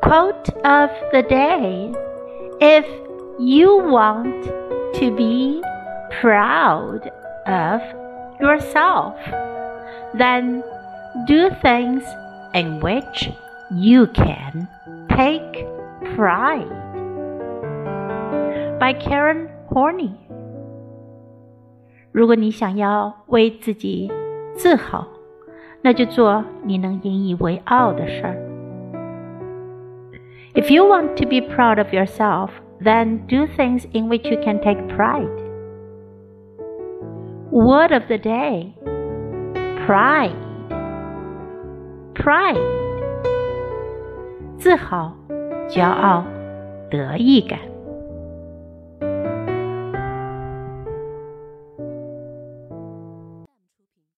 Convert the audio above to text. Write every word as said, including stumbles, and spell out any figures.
Quote of the day. If you want to be proud of yourself, then do things in which you can take pride. By Karen Horney. 如果你想要为自己自豪，那就做你能引以为傲的事儿。If you want to be proud of yourself, then do things in which you can take pride. Word of the day. Pride. Pride. 自豪、骄傲、得意感。